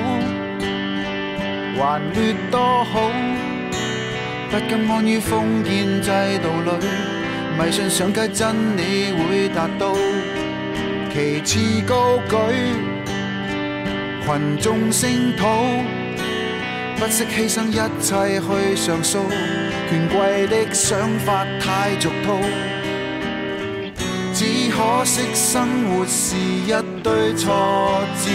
還劣多好，不甘安於封建制度裏，迷信上街真理會達到，旗幟高舉，群眾聲討，不惜犧牲一切去上訴，權貴的想法太俗套，只可惜生活是一堆挫折，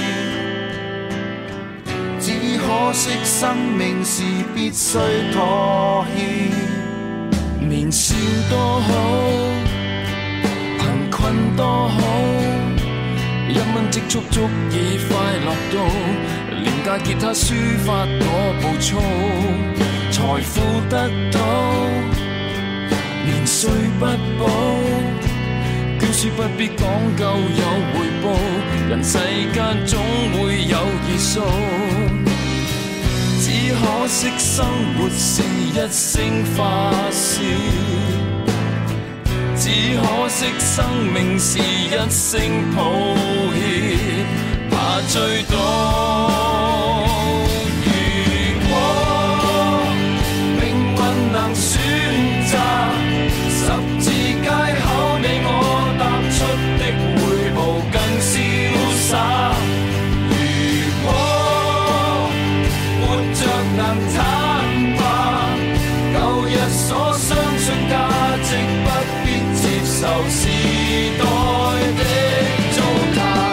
只可惜生命是必須妥協。年少多好，憑困多好，一蚊積蓄足以快樂到，廉價吉他抒發我暴躁，財富得到，年歲不保，捐書不必講究有回報，人世間總會有結數，只可惜生活是一聲發洩，只可惜生命是一聲抱歉，怕追到。如果命運能選擇，十字街口你我踏出的每步更瀟灑。如果活着能坦白，舊日所相信價值不必接受時代的糟蹋。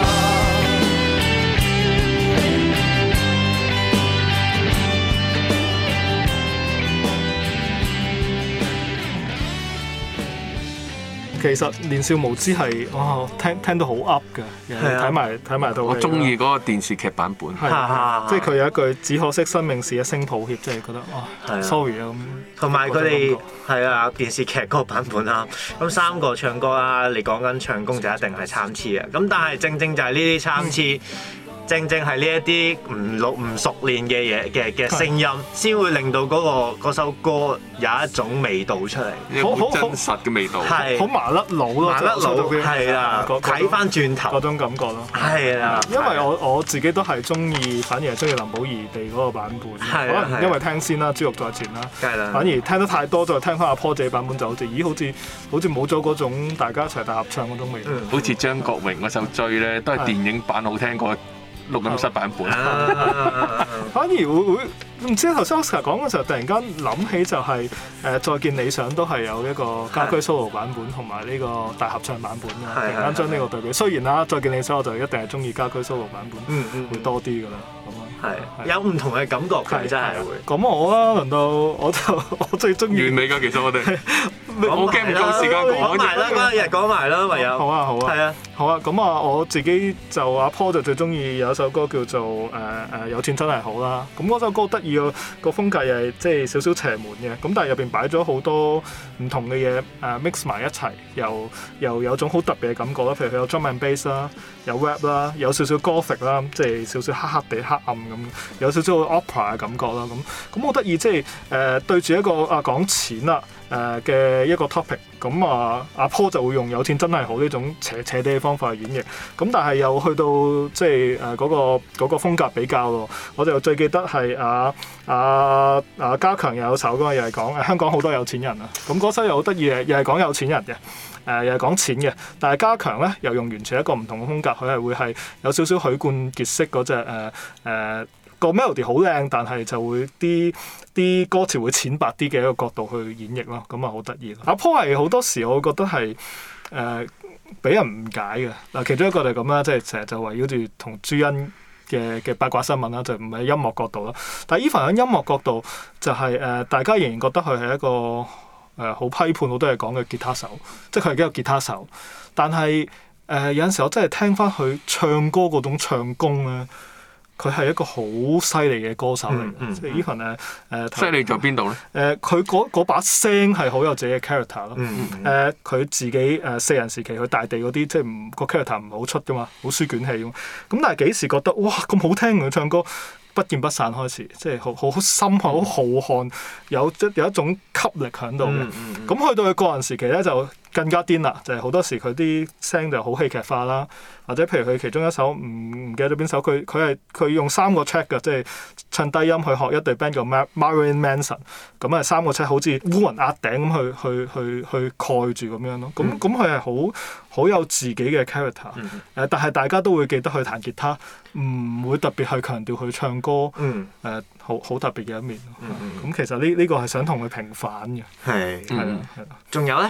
其實年少無知係哇，聽到好 up 嘅，睇埋到。 我中意嗰個電視劇版本。 係，即係佢有一句只可惜生命是一聲抱歉，即係覺得哇 sorry 啊咁。 同埋佢哋係啊電視劇嗰個版本啦，咁三個唱歌啦，你講緊唱功就一定係參差嘅，咁但係正正就係呢啲參差。正正係呢一啲唔熟練嘅嘢嘅聲音，先會令到嗰首歌有一種味道出嚟， 好真實嘅味道， 係好麻甩佬咯， 麻甩佬係啦，睇翻轉頭嗰種感覺咯， 係啦， 因為我自己都係中意，反而係中意林保怡地嗰個版本，可能因為聽先啦，珠玉在前啦，反而聽得太多，再聽翻阿 Paul 自己版本就好似冇咗嗰種大家一齊大合唱嗰種味道， 好似張國榮嗰首《追》咧，都係電影版好聽過。錄音室版本， 反而會唔知頭先 Oscar 講嘅時候，突然間諗起就係再見理想都係有一個家居 solo 版本同埋呢個大合唱版本嘅，突然間將呢個對比。雖然啦，再見理想我就一定係中意家居 solo 版本，會多啲㗎啦。 係有唔同嘅感覺嘅，真係會。 咁我啦，輪到我最中意完美㗎，其實我哋我驚唔夠時間講埋啦，嗰一日講埋啦，唯有。 好啊， 係啊， 好啊。咁啊，我自己就阿 Paul 就最中意有一首歌叫做有錢真係好啦。咁嗰首歌得意個風格又係即係少少邪門嘅，咁但係入邊擺咗好多唔同嘅嘢mix 埋一齊，又有種好特別嘅感覺啦。譬如佢有 drum and bass 啦，有 rap 啦，有少少 gothic 啦，即係少少黑黑地黑暗咁，有少少 opera 嘅感覺啦。咁好得意，即係對住一個講錢啦嘅一個 topic，咁阿 Paul 就會用有錢真係好呢種斜地嘅方法去演繹，咁但係又去到即係嗰個風格比較咯。我就最記得係家強有首歌，又係講香港好多有錢人啊。咁嗰首又好得意嘅，又係講有錢人嘅，又係講錢嘅。但係家強咧又用完全一個唔同嘅風格，佢係會係有少少許冠傑式嗰隻個 melody 好靚，但係就會啲歌詞會淺白啲嘅一個角度去演繹咯，咁啊好得意。阿 Paul 係好多時我覺得係俾人誤解嘅嗱，其中一個就係咁啦，即係成日就圍繞住同朱茵嘅八卦新聞啦，就唔係音樂角度啦。但係 even 喺音樂角度，就係大家仍然覺得佢係一個好批判好多嘢講嘅吉他手，即係佢係一個吉他手。但係有陣時我真係聽翻佢唱歌嗰種唱功咧。佢係一個好犀利嘅歌手嚟嘅，即係 even 犀利在邊度咧？ 佢嗰把聲係好有自己嘅 character 咯。佢自己四人時期去大地嗰啲，即係個 character 唔係好出噶嘛，好書卷氣咁。咁但係幾時覺得哇咁好聽佢唱歌？不見不散開始，即係好深厚、好浩瀚，有一種吸力喺度嘅。咁去到佢個人時期咧，就更加癲啦，就係好多時佢啲聲就好戲劇化啦，或者譬如佢其中一首唔記得咗邊首，佢用3個 track 嘅，即係唱低音去學一隊 band 叫 Marilyn Manson， 咁係3個 track 好似烏雲壓頂咁去蓋住咁樣咯。咁佢係好有自己嘅 character，但係大家都會記得佢彈吉他，唔會特別去強調佢唱歌，好特別嘅一面。咁其實呢個係想同佢平反嘅。 係啦。仲有咧？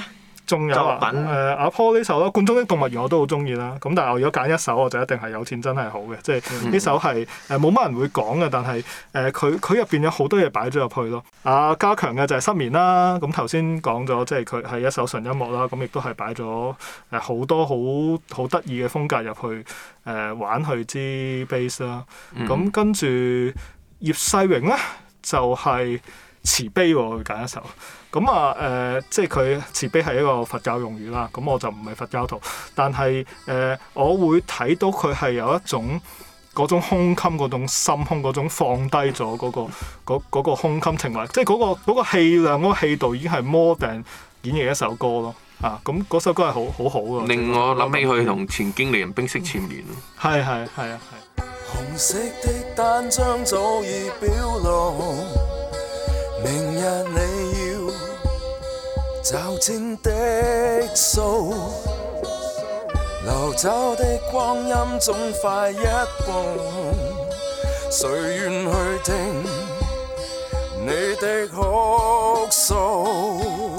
仲有作品阿 Paul 呢首啦，《罐中的動物園》我都好中意啦。咁但係我如果揀一首，我就一定係有錢真係好嘅，即係呢首係冇乜人會講嘅，但係佢入邊有好多嘢擺咗入去咯。加強嘅就係失眠啦。咁頭先講咗，即係佢係一首純音樂啦。咁亦都係擺咗好多好得意嘅風格入去玩去支 bass 啦。咁跟住葉世榮咧就係慈悲喎，佢揀一首。咁即係佢慈悲係一個佛教用語啦。咁我就唔係佛教徒，但係我會睇到佢係有一種嗰種胸襟、嗰種心胸、嗰種放低咗嗰個胸襟情懷，即係嗰個氣量、嗰個氣度已經係 more than 演繹一首歌咯。咁嗰首歌係好好㗎。 令我諗起佢同前經理人冰釋前緣。 係。 紅色的單張早已表露，明日你要找清的數，流走的光陰總快一步，誰願去聽你的哭訴？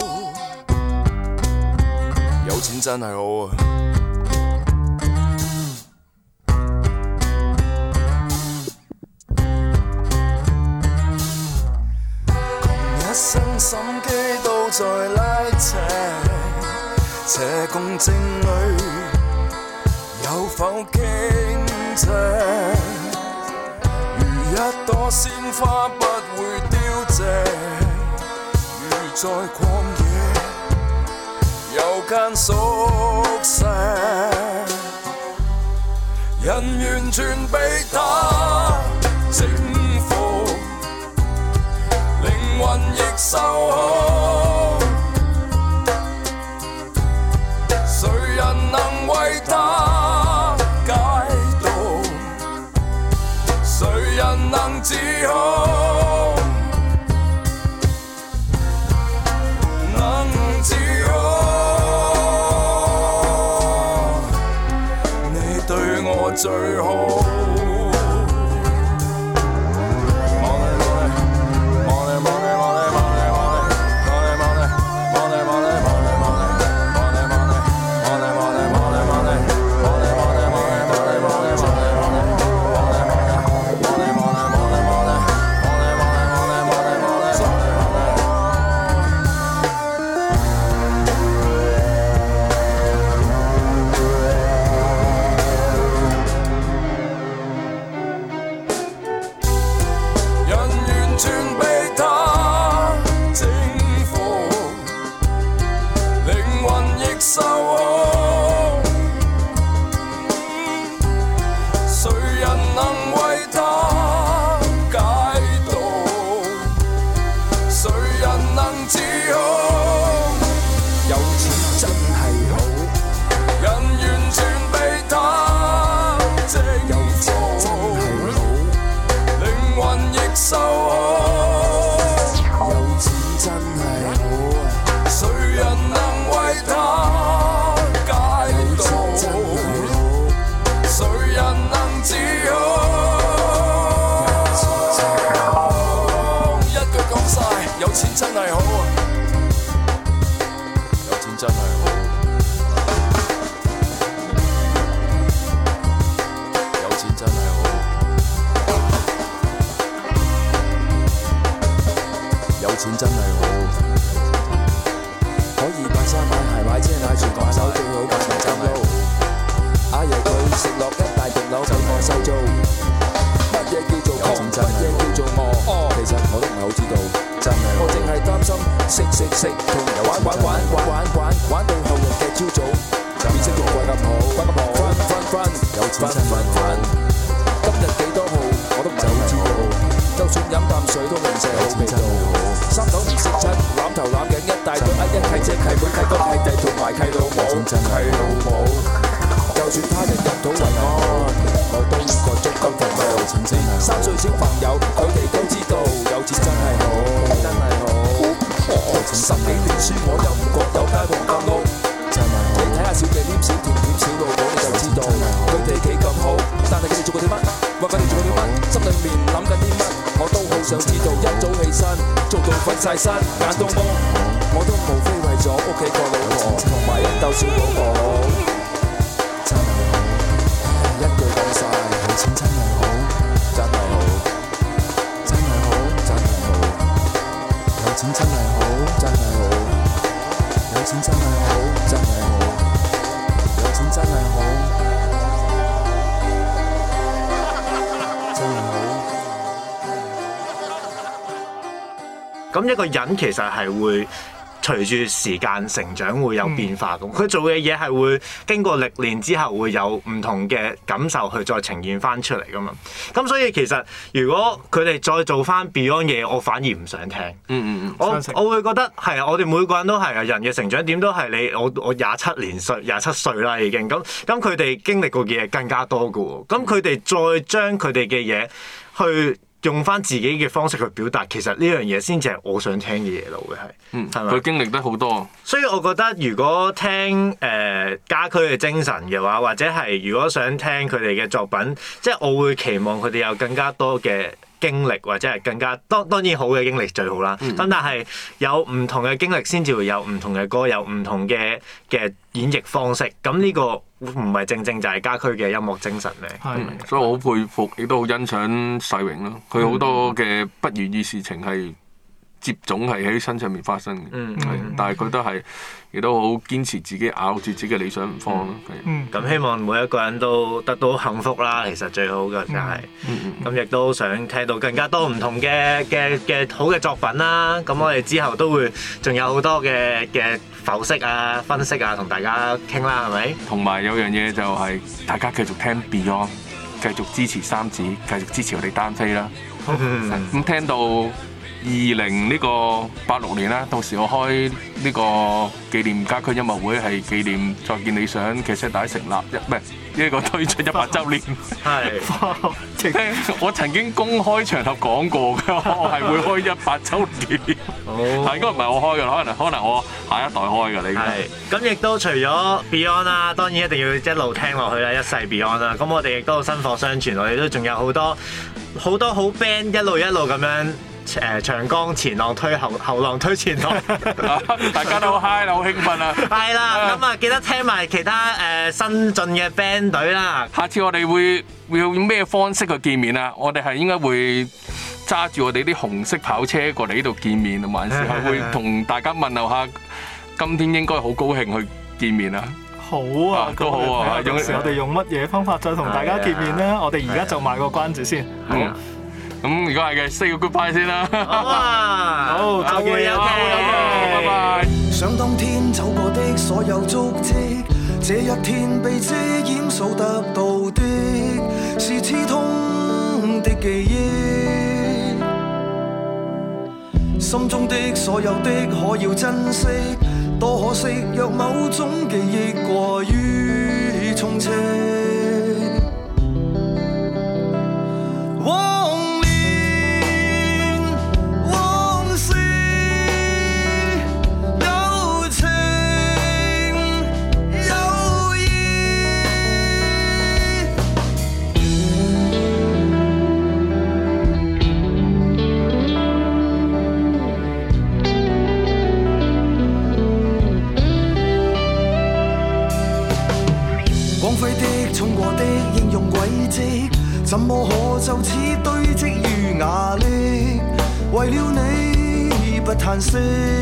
有錢真係好啊！一生心機都在拉扯，斜共正裏有否傾斜？如一朵鮮花不會凋謝，如在曠野有間宿舍，人完全被他征服，靈魂亦受控，誰人能為他解讀？誰人能自控？能自控？你對我最好。 晒身，眼到夢，我都無非為咗屋企個老婆。 鬥小寶寶，真係好，一句講晒，有錢真係好，真係好，真係好，真係好，有錢真係好，真係好，有錢真係好，真係好，有錢真係好，真係好。 咁一個人其實係會隨住時間成長會有變化咁，佢做嘅嘢係會經過歷練之後會有唔同嘅感受去再呈現翻出嚟噶嘛。咁所以其實如果佢哋再做翻 Beyond 嘢，我反而唔想聽。我會覺得係啊，我哋每個人都係啊，人嘅成長點都係你我27歲啦已經。咁佢哋經歷過嘅嘢更加多噶喎。咁佢哋再將佢哋嘅嘢去用翻自己嘅方式去表達，其實呢樣嘢先至係我想聽嘅嘢咯，會係，係咪？ 佢經歷得好多， 所以我覺得如果聽家駒嘅精神嘅話，或者係如果想聽佢哋嘅作品，即係我會期望佢哋有更加多嘅經歷，或者係更加當然好嘅經歷最好啦。咁但係有唔同嘅經歷先至會有唔同嘅歌，有唔同嘅演繹方式。咁呢個唔係正就係家駒嘅音樂精神咩？ 所以我好佩服，亦都好欣賞世榮咯。佢好多嘅不如意事情係接踵係喺身上面發生嘅，但係佢都係亦都好堅持自己咬住自己嘅理想唔放咯。 咁希望每一個人都得到幸福啦，其實最好嘅就係，咁亦都想聽到更加多唔同嘅好嘅作品啦。咁我哋之後都會仲有好多嘅剖析啊、分析啊，同大家傾啦，係咪？ 同埋有樣嘢就係大家繼續聽 Beyond， 繼續支持三子，繼續支持我哋單飛啦。咁聽到86年啦，到時我開呢個紀念家駒音樂會，係紀念再見理想嘅石帶成立呢個推出100週年。係，我曾經公開場合講過㗎，我係會開100週年。係應該唔係我開㗎，可能我下一代開㗎。你係咁亦都除咗 Beyond 啦，當然一定要一路聽落去啦，一世 Beyond 啦。咁我哋亦都薪火相傳，我哋都仲有好多好 band 一路咁樣。長江前浪推後浪推前浪， 大家都好 high 啦，好興奮啊！ 係啦，咁啊記得聽埋其他新進嘅 band 隊啦。 下次我哋會用咩方式去見面啊？我哋係應該會揸住我哋啲紅色跑車過嚟呢度見面，還是係會同大家問候下？今天應該好高興去見面啊！ 好啊， 都好啊。 有時我哋用乜嘢方法再同大家見面咧？我哋而家就賣個關子先。 咁如果係嘅 ，say 個 goodbye 先啦。 好，再見， 拜拜。 想當天走過的所有足跡，這一天被遮掩數得到的，是刺痛的記憶。心中的所有的可要珍惜，多可惜若某種記憶過於充斥。怎麼可就此堆積於瓦礫？為了你不嘆息，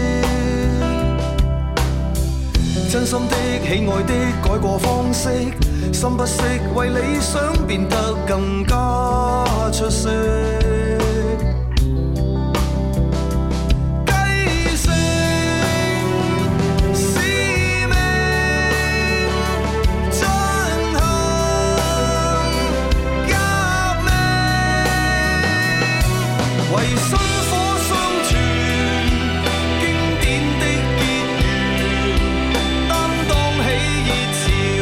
真心的喜愛的改過方式，心不息為理想變得更加出色。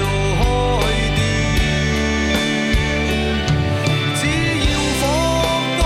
只要火。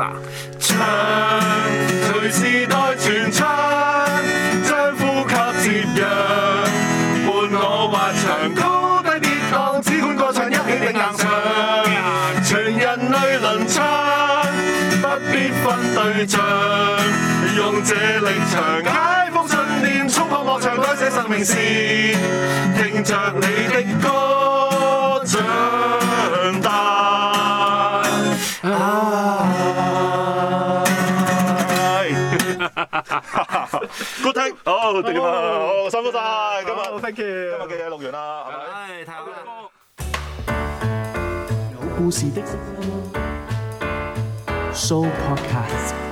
唱，隨時代傳唱，將呼吸接壤，伴我滑翔高低跌宕，只管歌唱一起定硬唱，全人類輪唱，不必分對象，用這力場解封信念，衝破幕牆改寫生命線，聽着你的歌長大。Good take， 好掂啊，好辛苦晒，今日 thank you， 今日嘅嘢錄完啦，係咪？太好啦！ 有故事的 Show Podcast。